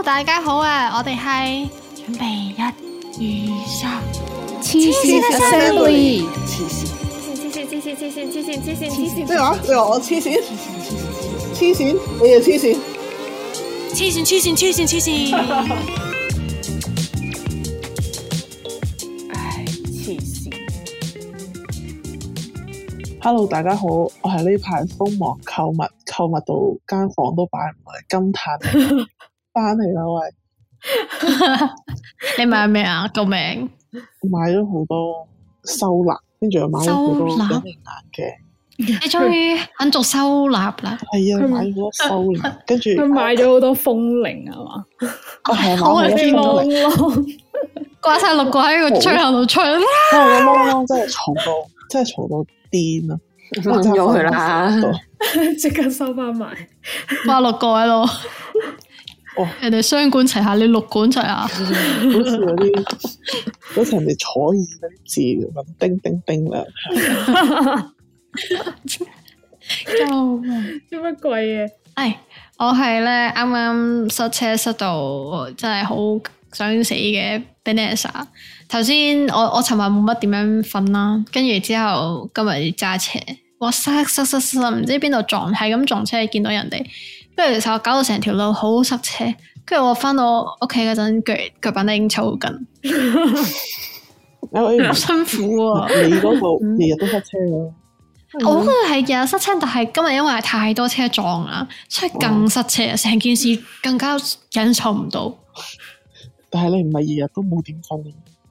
大家好啊！我哋係準備1、2、3， 黐線嘅 Assembly， 黐線， 咩話？你話我黐線？黐線，你又黐線？ 黐線！ 唉，黐線。 Hello， 大家好，我係呢排瘋狂購物到間房都擺唔落嚟，金嘆翻嚟啦喂！ 你買咩啊？救命！ 買咗好多收納，跟住又買咗好多隱形眼鏡。 你終於肯做收納啦？ 係啊，買咗好多收納，跟住佢買咗好多風鈴係嘛？ 係啊， 好買咗啲風鈴， 窿掛晒6個喺個吹口度吹啦！ 因為個窿窿真係嘈到癲啊！ 掹咗佢啦， 即刻收翻埋。 掛6個喺度。 哦， 人哋雙管齊下，你6管齊下。 好似嗰啲好似人哋坐椅嗰啲字咁，叮叮叮啦。 救命！ 做乜鬼嘢？ 我係咧啱啱塞車塞到真係好想死嘅 Vanessa。頭先我尋晚冇乜點樣瞓啦，跟住之後今日揸車，哇塞，唔知邊度撞，係咁撞車，見到人哋，跟住就搞到成條路好塞車。跟住我翻到屋企嗰陣，腳板都已經抽筋，好辛苦啊！ 你嗰度日日都塞車㗎。 我嗰個係日日塞車，但係今日因為太多車撞啦，所以更塞車，成件事更加忍受唔到。 但係你唔係日日都冇點瞓。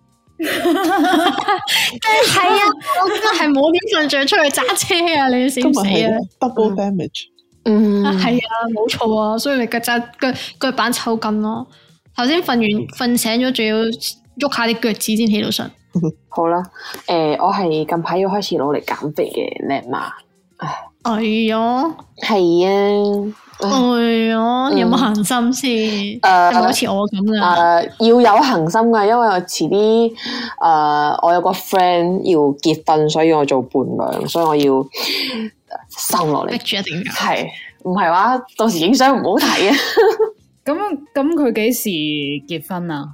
係啊，我真係冇點瞓着出去揸車啊！你死唔死啊 ？double damage。 係啊，冇錯啊，所以你腳板抽筋咯。頭先瞓醒咗，仲要喐下啲腳趾先起到身。 好啦，我係近排要開始努力減肥嘅靚媽。 哎呀， 係啊， 哎呀，你有冇恒心先？係咪好似我咁噶？ 要有恒心噶，因為我遲啲我有個 friend 要結婚，所以我做伴娘，所以我要瘦落嚟。 逼住一定要係，唔係話到時影相唔好睇啊！ 咁佢幾時結婚啊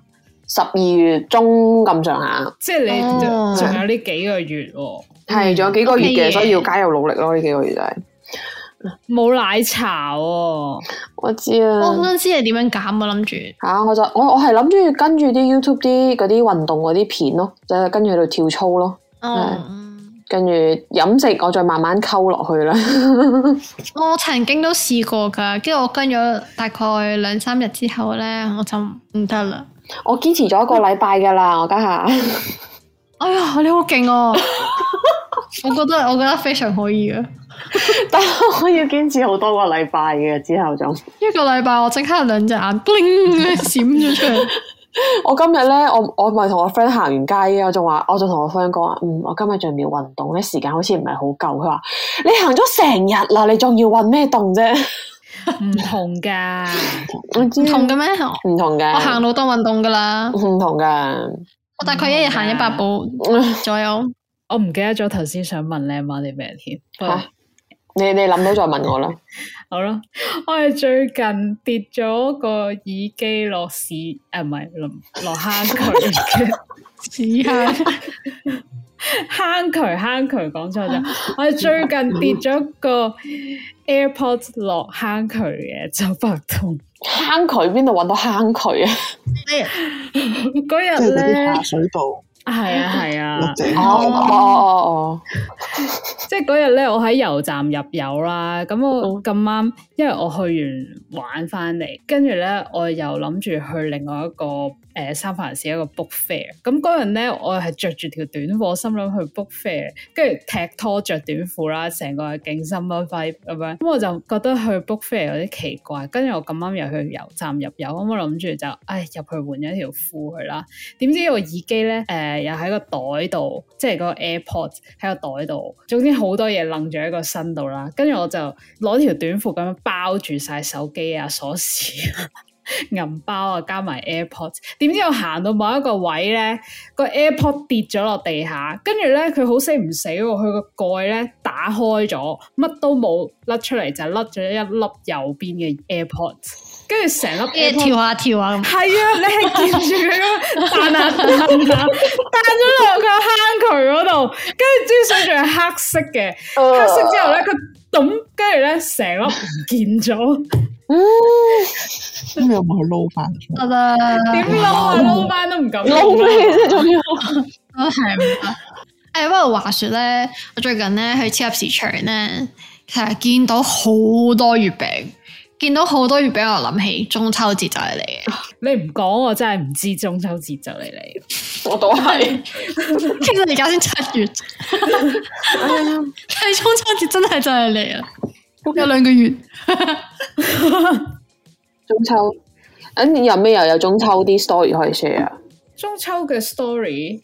12月中咁上下， 即係你仲有呢幾個月喎。 係仲有幾個月嘅， OK 嘅所以要加油努力咯。呢幾個月就係冇奶茶喎。 我知啊。 我想知你點樣減啊？諗住吓，我係諗住跟住啲 YouTube 啲嗰啲運動嗰啲片咯，就係跟住喺度跳操咯。跟住飲食我再慢慢溝落去啦。 我曾經都試過噶，跟住我跟咗大概2-3日之後咧，我就唔得啦。 我堅持咗1個禮拜噶啦，我家下。 哎呀，你好勁啊！我覺得非常可以啊！ 但係我要堅持好多個禮拜嘅，之後就 1個禮拜我即刻2隻眼 bling 閃咗出嚟。 我今日咧，我咪同我 friend 行完街嘅，我仲同我 friend 講話，我今日仲要運動咧，時間好似唔係好夠。佢話你行咗成日啦，你仲要運咩動啫？ 唔同噶， 唔同嘅咩？ 唔同嘅， 我行路當運動噶啦， 唔同噶。 我大概一日行100步左右。 我唔記得咗頭先想問靚媽啲咩添。 你諗到再問我啦。 好啦，我係最近跌咗個耳機落屎，唔係落坑渠嘅屎坑渠講錯咗。我係最近跌咗個 AirPods 落坑渠嘅，就白痛。 坑渠邊度搵到坑渠啊？ 嗰日即係嗰啲咧下水道。 係啊。 哦。 即係嗰日咧，我喺油站入油啦，咁我咁啱，因為我去完玩翻嚟，跟住咧我又諗住去另外一個三藩市一個 book fair，咁嗰日咧我係着住條短褲，心諗去 book fair，跟住踢拖着短褲啦，成個係勁 summer vibe 咁樣，咁我就覺得去 book fair 有啲奇怪，跟住我咁啱又去油站入油，咁我諗住就入去換咗條褲去啦，點知個耳機咧又喺個袋度，即係嗰個 AirPods 喺個袋度，總之好多嘢楞住喺個身度啦，跟住我就攞條短褲咁樣包住晒手機啊、鎖匙啊、銀包啊，加埋 AirPods， 點知我行到某一個位咧，個 AirPod 跌咗落地下，跟住咧佢好死唔死喎，佢個蓋咧打開咗，乜都冇甩出嚟，就甩咗一粒右邊嘅 AirPods。 跟住成粒跳下跳下咁。 係啊，你係見住佢咁彈下彈咗落個坑渠嗰度，跟住支水仲係黑色嘅，黑色之後咧佢咚，跟住咧成粒唔見咗。 咁你有冇去撈翻？ 得啦， 點撈啊？撈翻都唔敢撈咩啫？仲要都係唔得。不過話說咧，我最近咧去超級市場咧，其實見到好多月餅，見到好多月餅，我諗起中秋節就係嚟嘅。 你唔講我真係唔知中秋節就嚟。 我都係， 其實而家先7月，係中秋節真係就係嚟啊！有2個月。 中秋，有咩又有中秋啲 story 可以 share 啊？ 中秋嘅 story，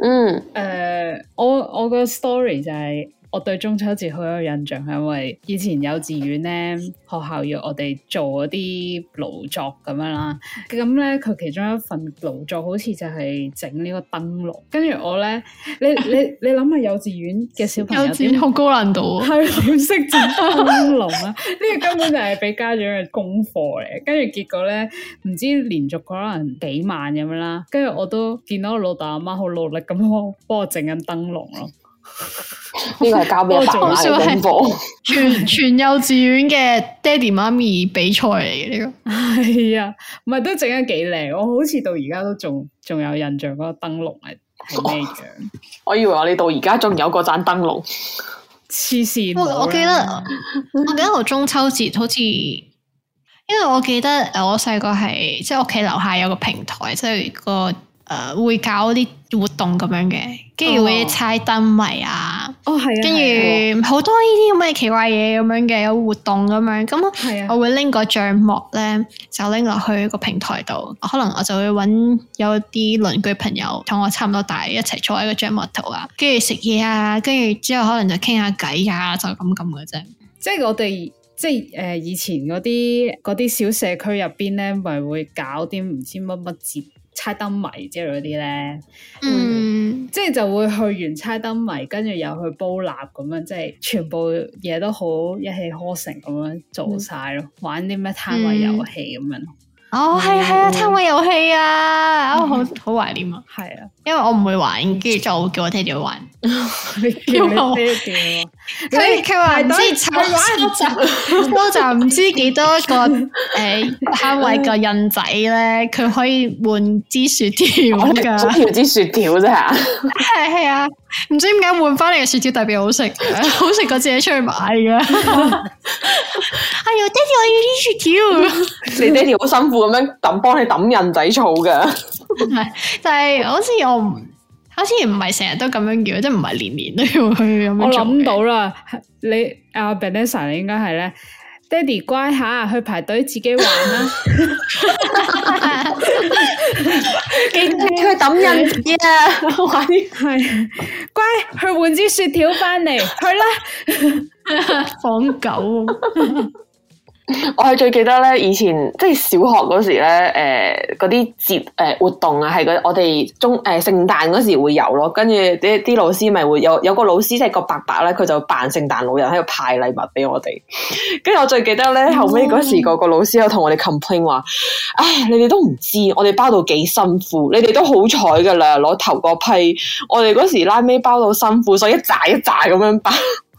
我個 story 就係我對中秋節好有印象，係因為以前幼稚園咧，學校要我哋做嗰啲勞作咁樣啦。咁咧，佢其中一份勞作好似就係整呢個燈籠。跟住我咧，你諗下幼稚園嘅小朋友點好高難度啊！ 係點識整燈籠啊？呢個根本就係俾家長嘅功課嚟。跟住結果咧，唔知連續可能幾萬咁樣啦。跟住我都見到我老豆阿媽好努力咁幫我整緊燈籠咯。 呢個係交俾阿爸媽嘅功課， 全幼稚園嘅爹哋媽咪比賽嚟嘅呢個。 係啊，唔係都整得幾靚，我好似到而家都仲有印象嗰個燈籠係咩樣。 我以為我哋到而家仲有嗰盞燈籠， 黐線。 我記得我中秋節好似，因為我記得我細個係即係屋企樓下有個平台，即係個會搞啲活動咁樣嘅，跟住會猜燈謎啊， 係啊， 跟住好多呢啲咁嘅奇怪嘢咁樣嘅，有活動咁樣，咁我會拎個帳幕咧，就拎落去個平台度，可能我就會揾有啲鄰居朋友同我差唔多大一齊坐喺個帳幕度啊，跟住食嘢啊，跟住之後可能就傾下偈啊，就咁嘅啫。 即係我哋即係以前嗰啲小社區入邊咧，咪會搞啲唔知乜乜節。猜燈謎之類嗰啲咧，即係就會去完猜燈謎，跟住又去煲蠟咁樣，即係全部嘢都好一氣呵成咁樣做晒咯，玩啲咩攤位遊戲咁樣。 哦，係啊，攤位遊戲啊，好懷念啊。 係啊，因為我唔會玩，跟住就叫我爹哋去玩。 叫你爹哋， 佢話唔知收集唔知幾多個攤位個印仔咧，佢可以換支雪條噶， 條支雪條啫吓。 係啊，唔知點解換翻嚟嘅雪條特別好食，好食過自己出去買噶。哎呀，爹哋我要啲雪條。 你爹哋好辛苦咁樣幫你抌印仔草噶。 係，但係好似唔係成日都咁樣叫，即係唔係年年都要去咁樣做。 我諗到啦，你阿 Vanessa 你應該係咧，爹哋乖下，去排隊自己玩啦。 記得去抌印紙玩啲係乖，去換支雪條翻嚟，去啦。 放狗。 我係最記得咧，以前即係小學嗰時咧，嗰啲節活動啊，係我哋聖誕嗰時會有咯，跟住啲老師咪會有個老師即係個伯伯咧，佢就扮聖誕老人喺度派禮物俾我哋。跟住我最記得咧，後尾嗰時個老師有同我哋 complain 話，唉，你哋都唔知我哋包到幾辛苦，你哋都好彩噶啦，攞頭嗰批，我哋嗰時拉尾包到辛苦，所以一扎一扎咁樣包。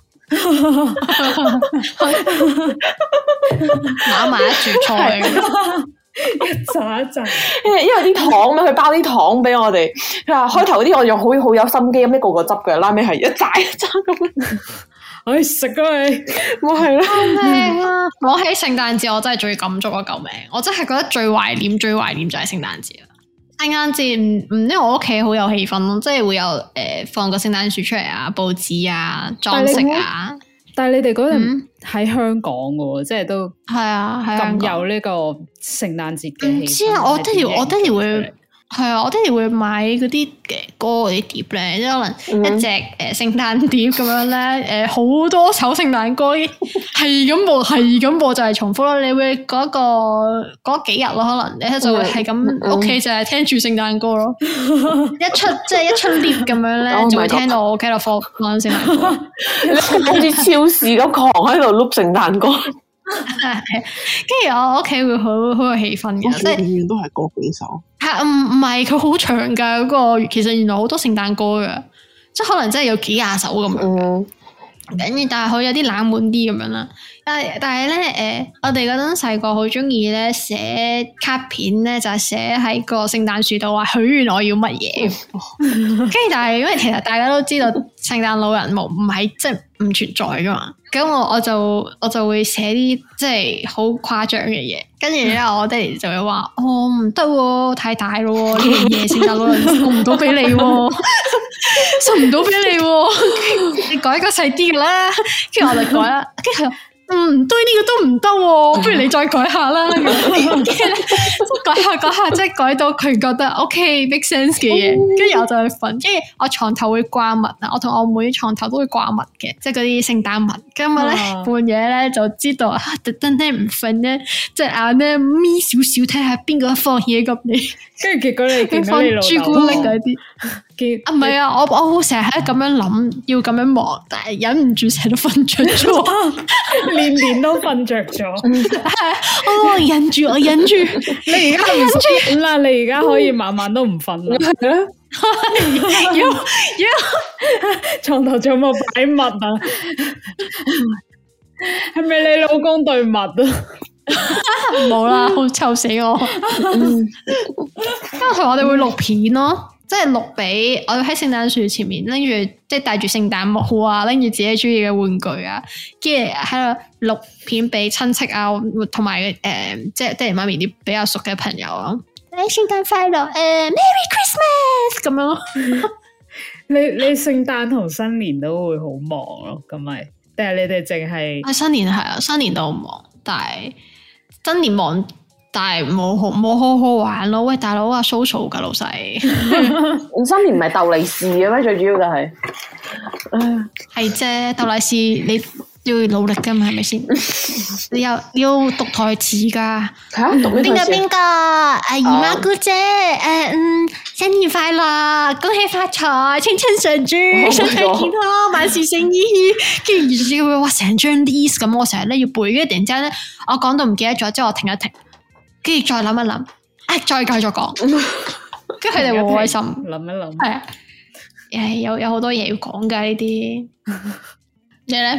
攬埋一住菜， 一扎一扎， 因為啲糖咩，佢包啲糖俾我哋。佢話開頭嗰啲我仲好有心機咁一個個執嘅，拉尾係一扎一扎咁樣。 唉，食啊你， 我係啦。 救命啊！講起聖誕節，我真係最感觸啊！救命！我真係覺得最懷念就係聖誕節啊！聖誕節因為我屋企好有氣氛咯，即係會有放個聖誕樹出嚟啊，佈置啊，裝飾啊。 但係你哋嗰陣喺香港嘅，即係都係啊， 咁有呢個聖誕節嘅氣氛。 唔知啊，我爹哋會係啊，我爹哋會買嗰啲歌嗰啲碟咧，即係可能一隻聖誕碟咁樣咧，好多首聖誕歌係咁播就係重複咯。你會嗰幾日咯，可能你就會係咁屋企就係聽住聖誕歌咯。一出碟咁樣咧，就會聽到我屋企度放聖誕歌。 你好似超市咁狂喺度碌聖誕歌。 跟住我屋企會好有氣氛嘅，即係永遠都係嗰幾首。 係唔係佢好長噶嗰個，其實原來好多聖誕歌噶，即係可能真係有幾廿首咁樣。跟住但係佢有啲冷門啲咁樣啦。但係咧我哋嗰陣細個好中意咧寫卡片咧，就係寫喺個聖誕樹度話許願我要乜嘢。跟住但係因為其實大家都知道聖誕老人唔係即係唔存在噶嘛，咁我就會寫啲即係好誇張嘅嘢。跟住咧我爹哋就會話唔得喎，太大咯呢樣嘢，聖誕老人送唔到俾你喎，送唔到俾你喎，你改個細啲噶啦。跟住我就改啦，跟住佢話對呢個都唔得喎，不如你再改下啦。跟住改下，即係改到佢覺得 OK make sense 嘅嘢，跟住我就去瞓。跟住我床頭會掛襪啊，我同我妹床頭都會掛襪嘅，即係嗰啲聖誕襪。咁我咧半夜咧就知道特登咧唔瞓咧，隻眼咧眯少少睇下邊個放嘢入嚟， 跟住結果你見到你老豆朱古力嗰啲。唔係啊，我成日喺度咁樣諗，要咁樣望，但係忍唔住成日都瞓着咗， 年都瞓着咗。 我忍住， 你而家唔瞓啦，你而家可以晚晚都唔瞓啦。 要床頭仲有冇擺襪啊？係咪你老公對襪啊？ 冇啦，好臭死我。因為我哋會錄片咯。即係錄俾我喺聖誕樹前面拎住，即係戴住聖誕帽啊，拎住自己中意嘅玩具啊，跟住喺度錄片俾親戚啊，同埋即係爹哋媽咪啲比較熟嘅朋友啊。聖誕快樂，Merry Christmas 咁樣咯。 你聖誕同新年都會好忙咯，咁咪？定係你哋淨係？ 新年係啊，新年都好忙，但係新年忙。但係冇好好玩咯，喂大佬啊 social 噶老細， 新年唔係鬥利是嘅咩？最主要就係， 係啫，鬥利是你要努力噶嘛，係咪先？你要讀台詞噶，邊個姨媽姑姐，新年快樂，恭喜發財，青春常駐，身體健康，萬事勝意。跟住要話成張 list 咁，我成日咧要背，跟住突然之間咧，我講到唔記得咗，之後我停一停。跟住再諗一諗，再繼續講，跟住佢哋好開心。 諗一諗， 係啊，有好多嘢要講噶呢啲。你咧？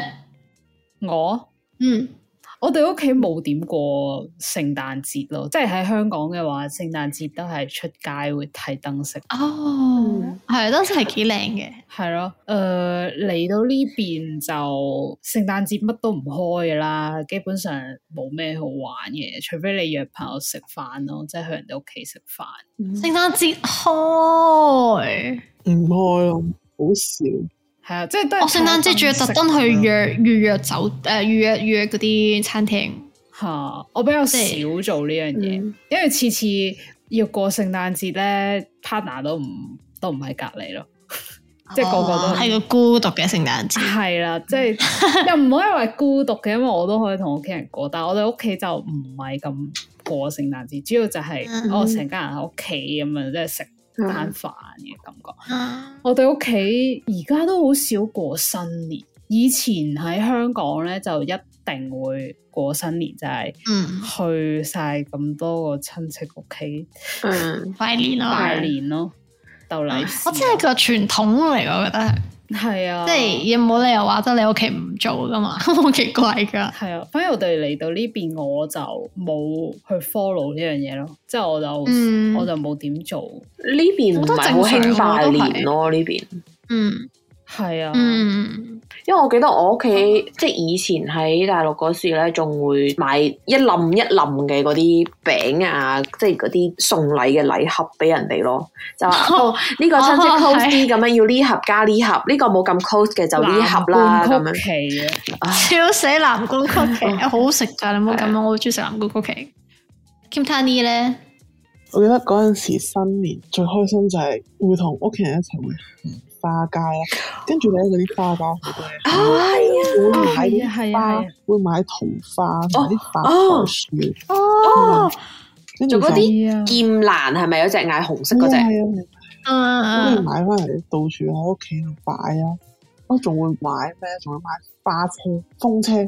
我哋屋企冇點過聖誕節咯，即係喺香港嘅話，聖誕節都係出街會睇燈飾。 係燈飾係幾靚嘅。 係咯，嚟到呢邊就聖誕節乜都唔開噶啦，基本上冇咩好玩嘅，除非你約朋友食飯咯，即係去人哋屋企食飯。 聖誕節開唔開咯，好少。 係啊，即係都係。 我聖誕節仲要特登去預約預約嗰啲餐廳。 我比較少做呢樣嘢，因為次次要過聖誕節咧 ，partner 都唔喺隔籬咯，即係個個都係個孤獨嘅聖誕節。 係啦，即係又唔可以話孤獨嘅，因為我都可以同屋企人過，但係我哋屋企就唔係咁過聖誕節，主要就係我成家人喺屋企咁樣，即係食餐飯嘅感覺。我哋屋企而家都好少過新年，以前喺香港咧就一定會過新年，就係去晒咁多個親戚屋企拜年咯，鬥利是。 我真係個傳統嚟，我覺得係啊， 即係有冇理由話得你屋企唔做噶嘛，好奇怪噶。 係啊，反而我哋嚟到呢邊，我就冇去 follow 呢樣嘢咯，即係我就冇點做。 呢邊唔係好興拜年咯，呢邊係啊， 因為我記得我屋企即係以前喺大陸嗰時咧，仲會買一冧一冧嘅嗰啲餅啊，即係嗰啲送禮嘅禮盒俾人哋咯，就話呢個親戚 close 啲咁樣，要呢盒加呢盒，呢個冇咁 close 嘅就呢盒啦咁樣。 笑死藍罐曲奇，好好食噶，你唔好咁樣，我好中意食藍罐曲奇。Kim Tani 咧， 我記得嗰陣時新年最開心就係會同屋企人一齊會花街啦，跟住咧嗰啲花街好多嘢，會買花，會買桃花，買啲發財樹，跟住嗰啲劍蘭係咪有隻嗌紅色嗰隻？ 跟住買翻嚟到處喺屋企度擺啊！我仲會買咩？仲會買花車、風車，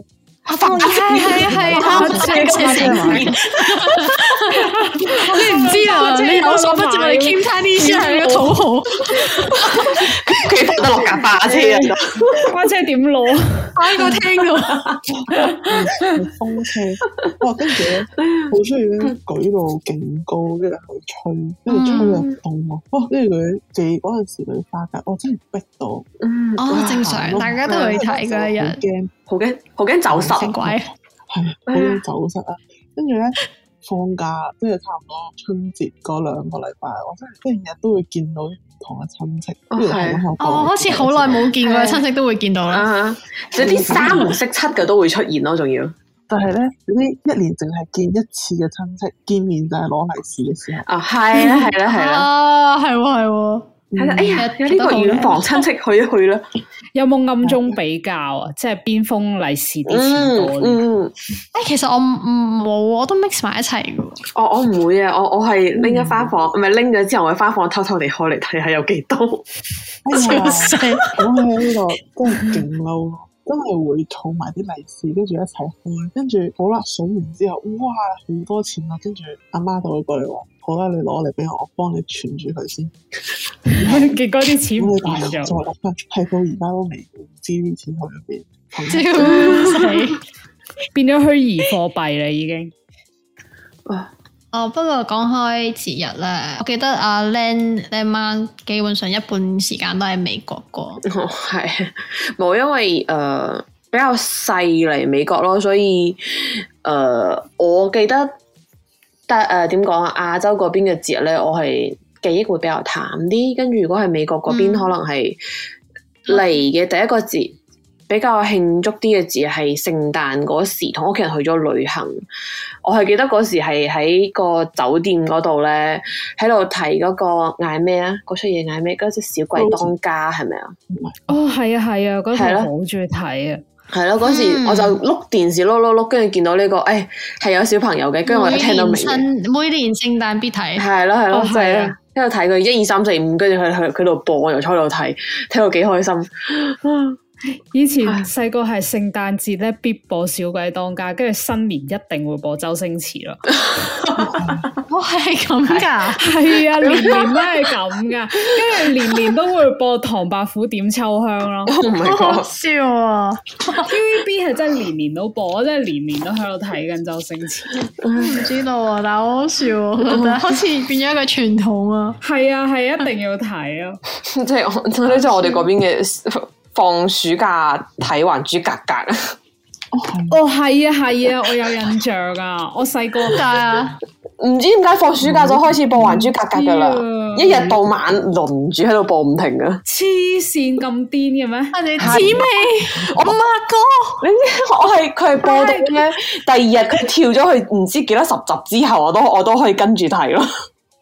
你唔知啊？你有所不知，我哋 Kim Chinese 係個土豪， 佢放得落架花車啊！ 花車點攞？ 喺個廳度， 風車，哇！跟住咧，好中意咧舉到勁高，跟住去吹，跟住吹入凍喎。哇！跟住佢哋嗰陣時嗰啲花架，我真係逼到， 哦，正常，大家都去睇嗰一日， 好驚走失， 鬼， 係好驚走失啊！跟住咧放假，即係差唔多春節嗰2個禮拜，我真係日日都會見到唔同嘅親戚，跟住哦，好似好耐冇見過嘅親戚都會見到啦。 有啲三唔識七嘅都會出現咯，仲要。 但係咧，嗰啲一年淨係見一次嘅親戚見面就係攞利是嘅時候。 啊，係啦， 啊，係喎。 哎呀，有呢個遠房親戚去一去啦。 有冇暗中比較啊？即係邊封利是啲錢多？ 其實我冇，我都 mix 埋一齊嘅。 我唔會啊，我係拎咗翻房，唔係拎咗之後我翻房偷偷地開嚟睇下有幾多。 笑死！ 講起呢個真係勁嬲，真係會儲埋啲利是，跟住一齊開，跟住好啦，數完之後，哇，好多錢啊！跟住阿媽就會過嚟話：好啦，你攞嚟俾我，我幫你存住佢先。 結果啲錢唔見咗， 再落翻，係到而家都未知啲錢去咗邊。 笑死！ 變咗虛擬貨幣啦，已經。 不過講開節日咧，我記得阿 Len 媽基本上一半時間都喺美國過。 係冇，因為比較細嚟美國咯，所以我記得點講啊？亞洲嗰邊嘅節日咧，我係記憶會比較淡啲。跟住如果係美國嗰邊，可能係嚟嘅第一個節。比較慶祝啲嘅節係聖誕嗰時，同屋企人去咗旅行。我係記得嗰時係喺個酒店嗰度咧，喺度睇嗰個嗌咩啊？嗰出嘢嗌咩？嗰隻小鬼當家係咪啊？ 哦，係啊，嗰時好中意睇啊！ 係咯，嗰時我就碌電視碌，跟住見到呢個，係有小朋友嘅，跟住我就聽到明每年聖誕必睇。 係咯，就係喺度睇佢1、2、3、4、5，跟住佢度播，我又坐喺度睇，睇到幾開心。 以前細個係聖誕節咧必播小鬼當家，跟住新年一定會播周星馳咯。 我係咁噶， 係啊，年年都係咁噶，跟住年年都會播唐伯虎點秋香咯。 好好笑啊 ！TVB 係真係年年都播，我真係年年都喺度睇緊周星馳。 唔知道啊，但係好好笑，我覺得好似變咗一個傳統啊。 係啊，係一定要睇啊！ 即係我哋嗰邊嘅。放暑假睇《還珠格格》 係啊，我有印象啊！我細個唔知點解放暑假就開始播《還珠格格》噶啦，一日到晚輪住喺度播唔停噶。 黐線咁癲嘅咩？ 我哋知未？我阿哥， 你知佢係播到咧，第二日佢跳咗去唔知幾多10集之後，我都可以跟住睇咯。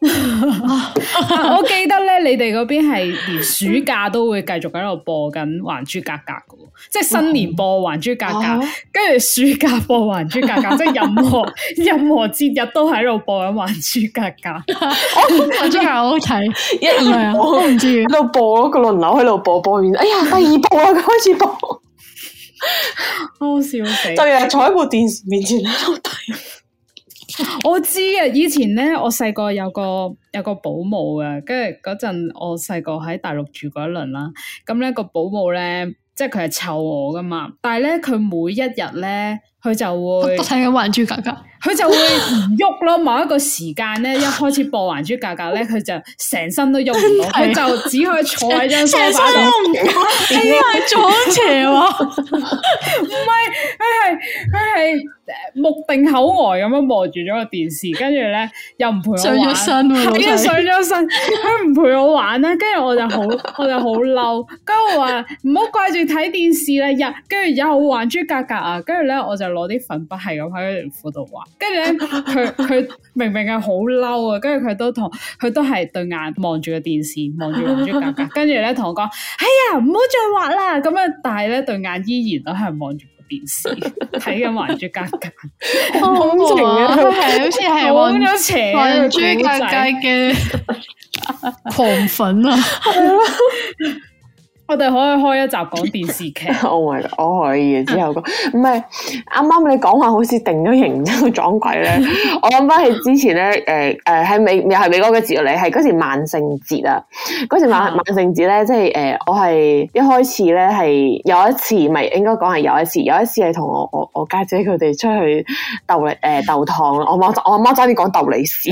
我記得咧，你哋嗰邊係連暑假都會繼續喺度播緊《還珠格格》噶，即係新年播《還珠格格》，跟住暑假播《還珠格格》，即係任何節日都喺度播緊《還珠格格》。 還珠格格好好睇， 一二播我唔知喺度播咯，個輪流喺度播完，哎呀，第2部啦，佢開始播， 好笑死！ 就日日坐喺部電視面前喺度睇。 我知啊，以前咧我細個有個保姆嘅，跟住嗰陣我細個喺大陸住嗰一輪啦，咁咧個保姆咧，即係佢係湊我噶嘛，但係咧佢每一日咧，佢就會睇緊《還珠格格》， 佢就會唔喐咯。某一個時間咧，一開始播《還珠格格》咧，佢就成身都喐唔到，佢就只可以坐喺張梳化度。 係啊，左斜喎， 唔係，佢係目定口呆咁樣望住咗個電視，跟住咧又唔陪我玩， 上咗身喎， 係啊，上咗身，佢唔陪我玩啦，跟住我就好嬲，跟住我話唔好掛住睇電視啦，跟住有還珠格格啊，跟住咧我就攞啲粉筆係咁喺條褲度畫，跟住咧佢明明係好嬲啊，跟住佢都係對眼望住個電視，望住還珠格格，跟住咧同我講，哎呀，唔好再畫啦，咁樣，但係咧對眼依然都係望住電視睇緊還珠格格， 好恐怖啊！佢係好似係往咗邪還珠格格嘅狂粉啊！ 我哋可以開一集講電視劇。 Oh my god！我可以之後講，唔係啱啱你講話好似定咗型之後撞鬼咧。我諗翻起之前咧，喺又係美國嘅節日嚟，係嗰時萬聖節啊。嗰時萬聖節咧，即係我係一開始咧係有一次，咪應該講係有一次係同我家姐佢哋出去鬥糖。我阿媽差啲講鬥利是，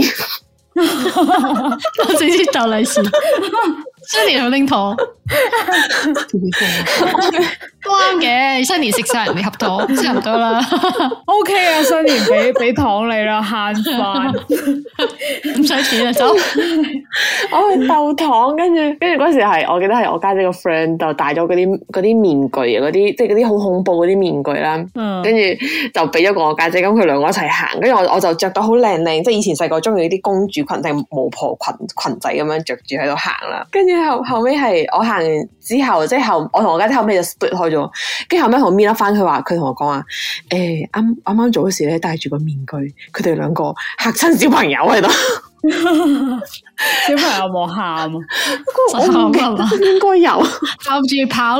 我直接鬥利是。新年好拎糖，都啱嘅。新年食晒人哋盒糖，差唔多啦。 O K 啊，新年俾糖你啦，慳翻， 唔使錢啊，走。 我去鬥糖，跟住嗰時係我記得係我家姐個 friend 就戴咗嗰啲面具啊，嗰啲即係嗰啲好恐怖嗰啲面具啦。跟住就俾咗個我家姐，咁佢兩個一齊行，跟住我就着到好靚，即係以前細個中意啲公主裙定巫婆裙仔咁樣着住喺度行啦，跟住。後尾係我行完之後，即係我同我家姐後尾就 split 開咗，跟住後尾同我搣甩翻，佢同我講話，啱做嗰時咧戴住個面具，佢哋兩個嚇親小朋友喺度， 小朋友冇喊啊， 我唔記得應該有跑住跑。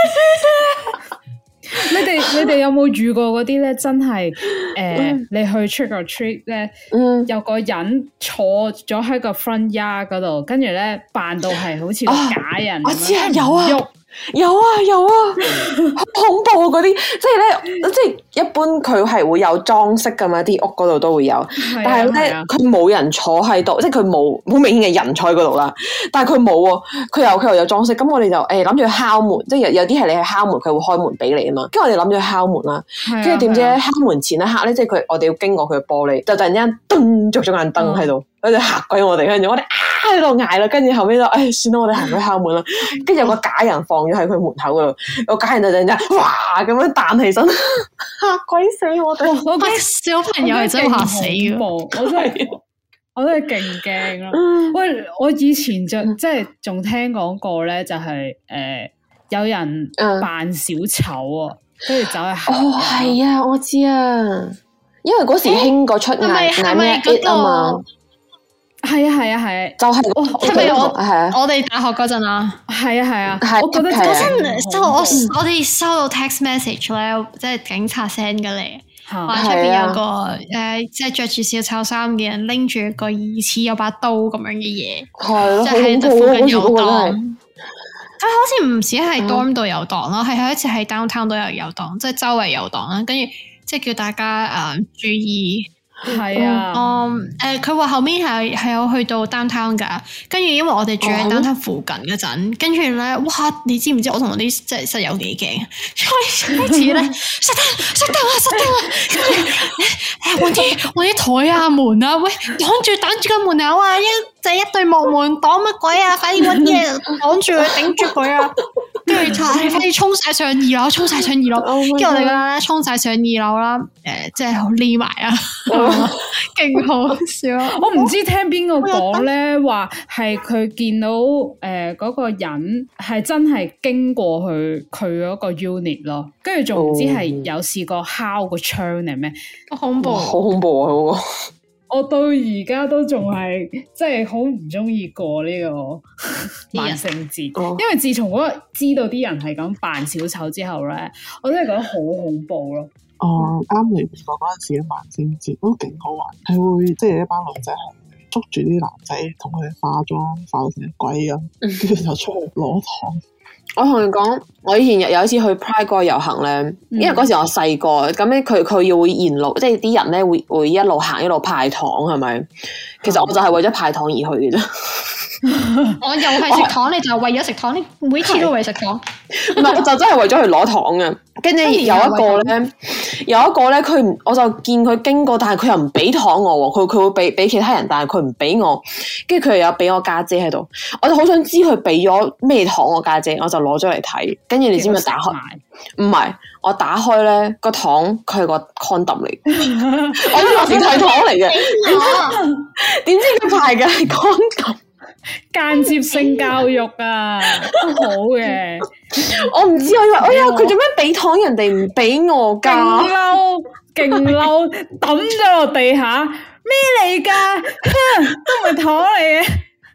你哋有冇遇過嗰啲咧？真係你去 trick or treat 咧，有個人坐咗喺個 front yard 嗰度，跟住咧扮到係好似個假人。 我知啊，有啊，好恐怖啊！嗰啲即係咧，即係一般佢係會有裝飾噶嘛，啲屋嗰度都會有，但係咧佢冇人坐喺度，即係佢冇好明顯嘅人坐喺嗰度啦。但係佢冇喎，佢又有裝飾，咁我哋就諗住敲門，即係有啲係你去敲門，佢會開門俾你啊嘛。跟住我哋諗住去敲門啦，跟住點知敲門前一刻咧，即係我哋要經過佢嘅玻璃，就突然間噔着咗眼燈喺度，佢就嚇鬼我哋，跟住我哋喺度嗌啦，跟住後尾就算啦，我哋行去敲門啦。跟住有個假人放咗喺佢門口嗰度，個假人就突然間哇咁樣彈起身，嚇鬼死我哋！ 我覺得小朋友係真係嚇死嘅， 我真係勁驚啦！喂，我以前即係仲聽講過咧，就係有人扮小丑啊，跟住走去嚇。 哦，係啊，我知啊，因為嗰時興過出嗌咩 it 啊嘛。 係啊， 就係係咪我哋大學嗰陣啊？ 係啊， 我覺得嗰陣我哋收到 text message 咧，即係警察 send 嘅嚟，話出邊有個即係着住小丑衫嘅人拎住個疑似有把刀咁樣嘅嘢， 係即係附近有檔。 佢好似唔止係 dorm 度有檔咯，係有一次喺 downtown 都有檔，即係周圍有檔啦，跟住即係叫大家注意。 係啊， 佢話後面係有去到 downtown 噶，跟住因為我哋住喺 downtown 附近嗰陣，跟住咧，哇！你知唔知我同我啲即係室友幾驚？開始咧，熄燈啊！跟住揾啲台啊門啊，喂，擋住個門口啊！一對木門擋乜鬼啊！快啲揾嘢擋住佢，頂住佢啊！跟住快啲衝晒上二樓，跟住我哋咧衝晒上二樓啦，即係好匿埋啊！勁好笑！ 我唔知聽邊個講咧，話係佢見到嗰個人係真係經過佢嗰個 unit 咯，跟住仲唔知係有試過敲個窗定咩？ 好恐怖！ 好恐怖啊！嗰個我到而家都仲係即係好唔中意過呢個萬聖節，因為自從嗰日知道啲人係咁扮小丑之後咧，我真係覺得好恐怖咯。 啱嚟美國嗰陣時嘅萬聖節都勁好玩，係會即係一班女仔係捉住啲男仔同佢哋化妝化到成鬼咁，跟住就出去攞糖。 我同你講，我以前有一次去 Pride 嗰個遊行咧，因為嗰時我細個，咁咧佢要會沿路，即係啲人咧會一路行一路派糖，係咪？其實我就係為咗派糖而去嘅啫。 我又係食糖，你就為咗食糖，你每次都為食糖。 唔係，我就真係為咗去攞糖嘅。跟住有一個咧，我就見佢經過，但係佢又唔俾糖我喎。佢會俾其他人，但係佢唔俾我。跟住佢又有俾我家姐喺度，我就好想知佢俾咗咩糖我家姐，我就攞咗嚟睇。跟住你知唔知打開？唔係，我打開咧個糖，佢係個 condom 嚟。我以為係糖嚟嘅，點知佢排嘅係 condom。 間接性教育啊，都好嘅。 我唔知，我以為哎呀，佢做咩俾糖人哋唔俾我噶？ 勁嬲，抌咗落地下，咩嚟噶？都唔係糖嚟嘅。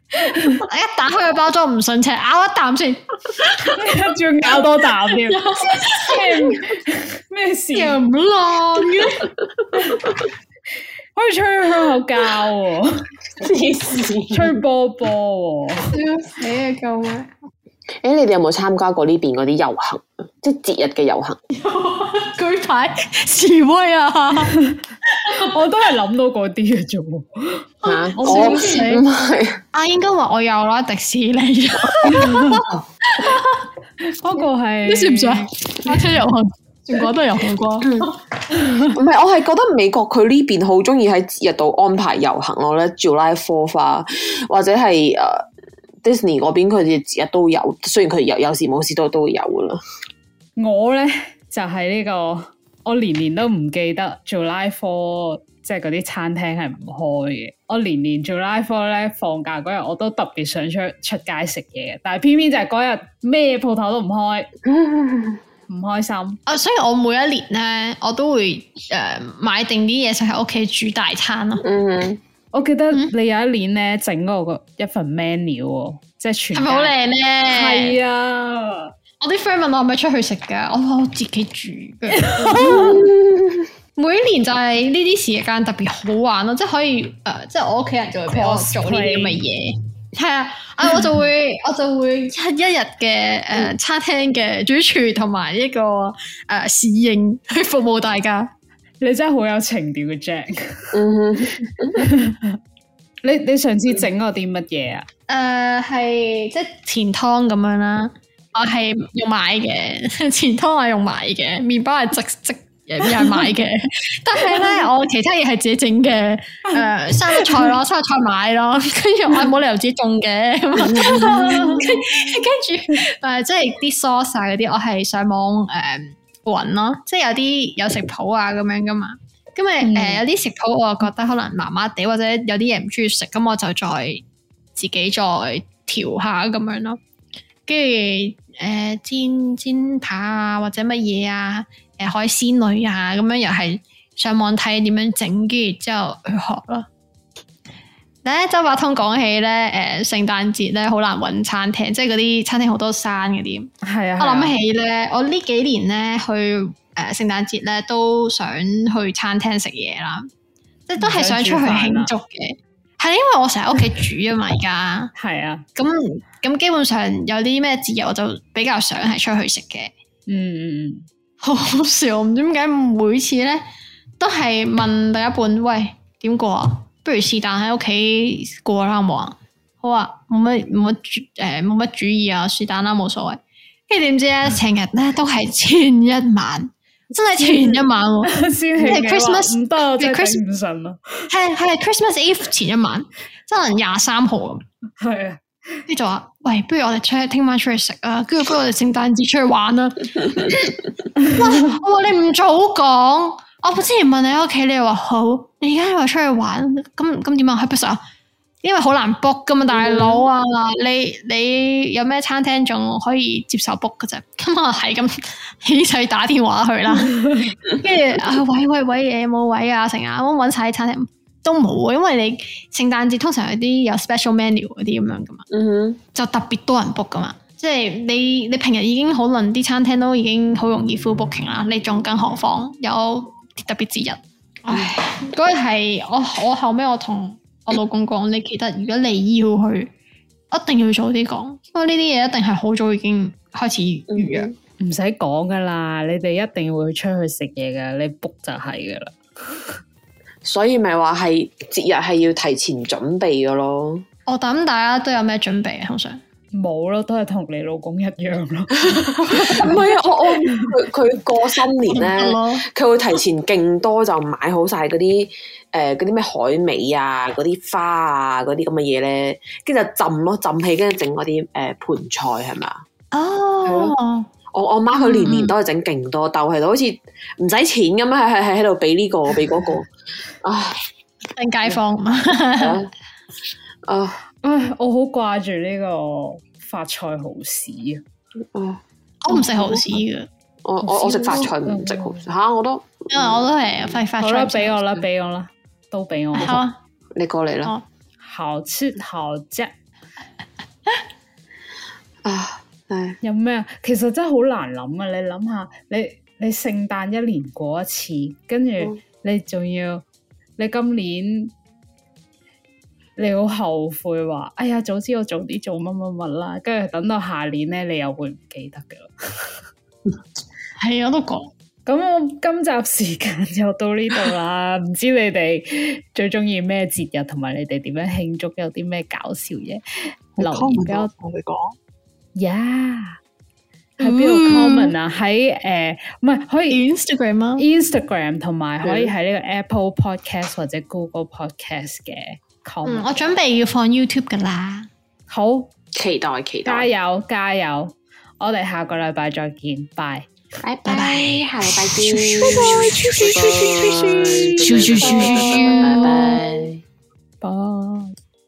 一打開個包裝唔順車，咬一啖先， 仲要咬多啖添，咩事？ 又唔爛嘅， 可以吹香口膠喎， 黐線， 吹波波喎， 笑死啊！救命！ 你哋有冇參加過呢邊嗰啲遊行？即係節日嘅遊行？ 舉牌示威啊！ 我都係諗到嗰啲嘅啫喎。 嚇！ 我笑死唔係應該話我有啦，迪士尼。 嗰個係你算唔算？花車遊行，全國都遊行過。 唔係，我係覺得美國佢呢邊好中意喺節日度安排遊行咯咧，July 4th花或者係Disney 嗰邊佢哋節日都有，雖然佢有時冇事都會有噶啦。 我咧就係呢個，我年年都唔記得 July 4即係嗰啲餐廳係唔開嘅。我年年 July 4咧放假嗰日，我都特別想出街食嘢嘅，但係偏偏就係嗰日咩鋪頭都唔開，唔開心。 所以我每一年咧，我都會買定啲嘢食喺屋企煮大餐咯。 我記得你有一年咧整嗰個一份 menu 喎，即係全係咪好靚咧？ 係啊！ 我啲 friend 問我係咪出去食㗎，我話我自己煮嘅。每一年就係呢啲時間特別好玩咯，即係可以即係我屋企人就會陪我做呢啲咁嘅嘢。係啊，我就會一日嘅餐廳嘅主廚同埋一個侍應去服務大家。 你真係好有情調嘅 Jack。你上次整過啲乜嘢啊？ 係即係前湯咁樣啦，我係用買嘅，前湯我用買嘅，麵包係即又係買嘅，但係咧我其他嘢係自己整嘅，生菜咯，生菜買咯，跟住我冇理由自己種嘅，跟住即係啲 sauce 嗰啲，我係上網搵咯，即係有食譜啊咁樣噶嘛，咁有啲食譜我覺得可能麻麻地，或者有啲嘢唔中意食，咁我就再自己再調下咁樣咯，跟住煎扒啊或者乜嘢啊。海鮮類啊，咁樣又係上網睇點樣整，跟住之後去學咯。咧周伯通講起咧，聖誕節咧好難搵餐廳，即係嗰啲餐廳好多山嗰啲。係啊，我諗起咧，我呢幾年咧去聖誕節咧都想去餐廳食嘢啦，即係都係想出去慶祝嘅。係因為我成日屋企煮啊嘛，而家係啊，咁基本上有啲咩節日我就比較想係出去食嘅。好好笑，唔知點解每次咧都係問另一半，喂，點過啊？不如是但喺屋企過啦，好冇啊？好啊，冇乜主意啊，是但啦，冇所謂。跟住點知咧，成日咧都係前一晚，真係前一晚喎， 先係 Christmas 唔得，真係頂唔順咯。 係 Christmas Eve 前一晚，真係23號咁。 係啊。 跟住就話，喂，不如我哋聽晚出去食啊，跟住不如我哋聖誕節出去玩啦。哇！我話你唔早講，我之前問你喺屋企，你又話好，你而家又話出去玩，咁點啊？去邊食啊？因為好難 book 噶嘛，大佬啊，你有咩餐廳仲可以接受 book 噶啫？咁啊係咁起勢打電話去啦，跟住喂，有冇位啊？成日我搵晒啲餐廳。都冇啊，因為你聖誕節通常有啲有 special menu 嗰啲咁樣噶嘛，就特別多人 book 噶嘛，即係你平日已經可能啲餐廳都已經好容易 full booking 啦，你仲更何況有特別節日，唉，嗰日係我後尾我同我老公講，你記得如果你要去，一定要早啲講，因為呢啲嘢一定係好早已經開始預約， 唔使講噶啦，你哋一定會出去食嘢噶，你 book 就係噶啦。 所以咪話係節日係要提前準備嘅咯。 我諗大家都有咩準備啊？通常冇咯，都係同你老公一樣咯。 唔係啊，佢過新年咧，佢會提前勁多就買好晒嗰啲咩海味啊、嗰啲花啊、嗰啲咁嘅嘢咧，跟住就浸氣，跟住整嗰啲盤菜係咪啊？ 哦。 我媽佢年年都係整勁多兜，係好似唔使錢咁樣，係喺度俾呢個俾嗰個，唉， 跟街坊我好掛住呢個發菜蠔豉啊！ 我唔食蠔豉嘅， 我食發菜唔食蠔豉吓，我都因為我都係發菜。 好啦，俾我啦，都俾我。 好， 你過嚟啦。 好吃好食。 啊，係有咩啊？其實真係好難諗啊！你諗下，你聖誕一年過一次，跟住你仲要你今年你好後悔話，哎呀，早知我早啲做乜乜乜啦，跟住等到下年咧，你又會唔記得噶啦。 係我都講。 咁我今集時間就到呢度啦，唔知你哋最中意咩節日，同埋你哋點樣慶祝，有啲咩搞笑嘢留言俾我同你講。 呀，喺邊度 comment 啊？喺唔係可以 Instagram 啊 ，Instagram 同埋可以喺呢個 Apple Podcast 或者 Google Podcast 嘅 comment。 我準備要放 YouTube 噶啦， 好期待， 加油加油！我哋下個禮拜再見，拜。 拜拜，下禮拜見， 拜拜， 拜拜。 拜。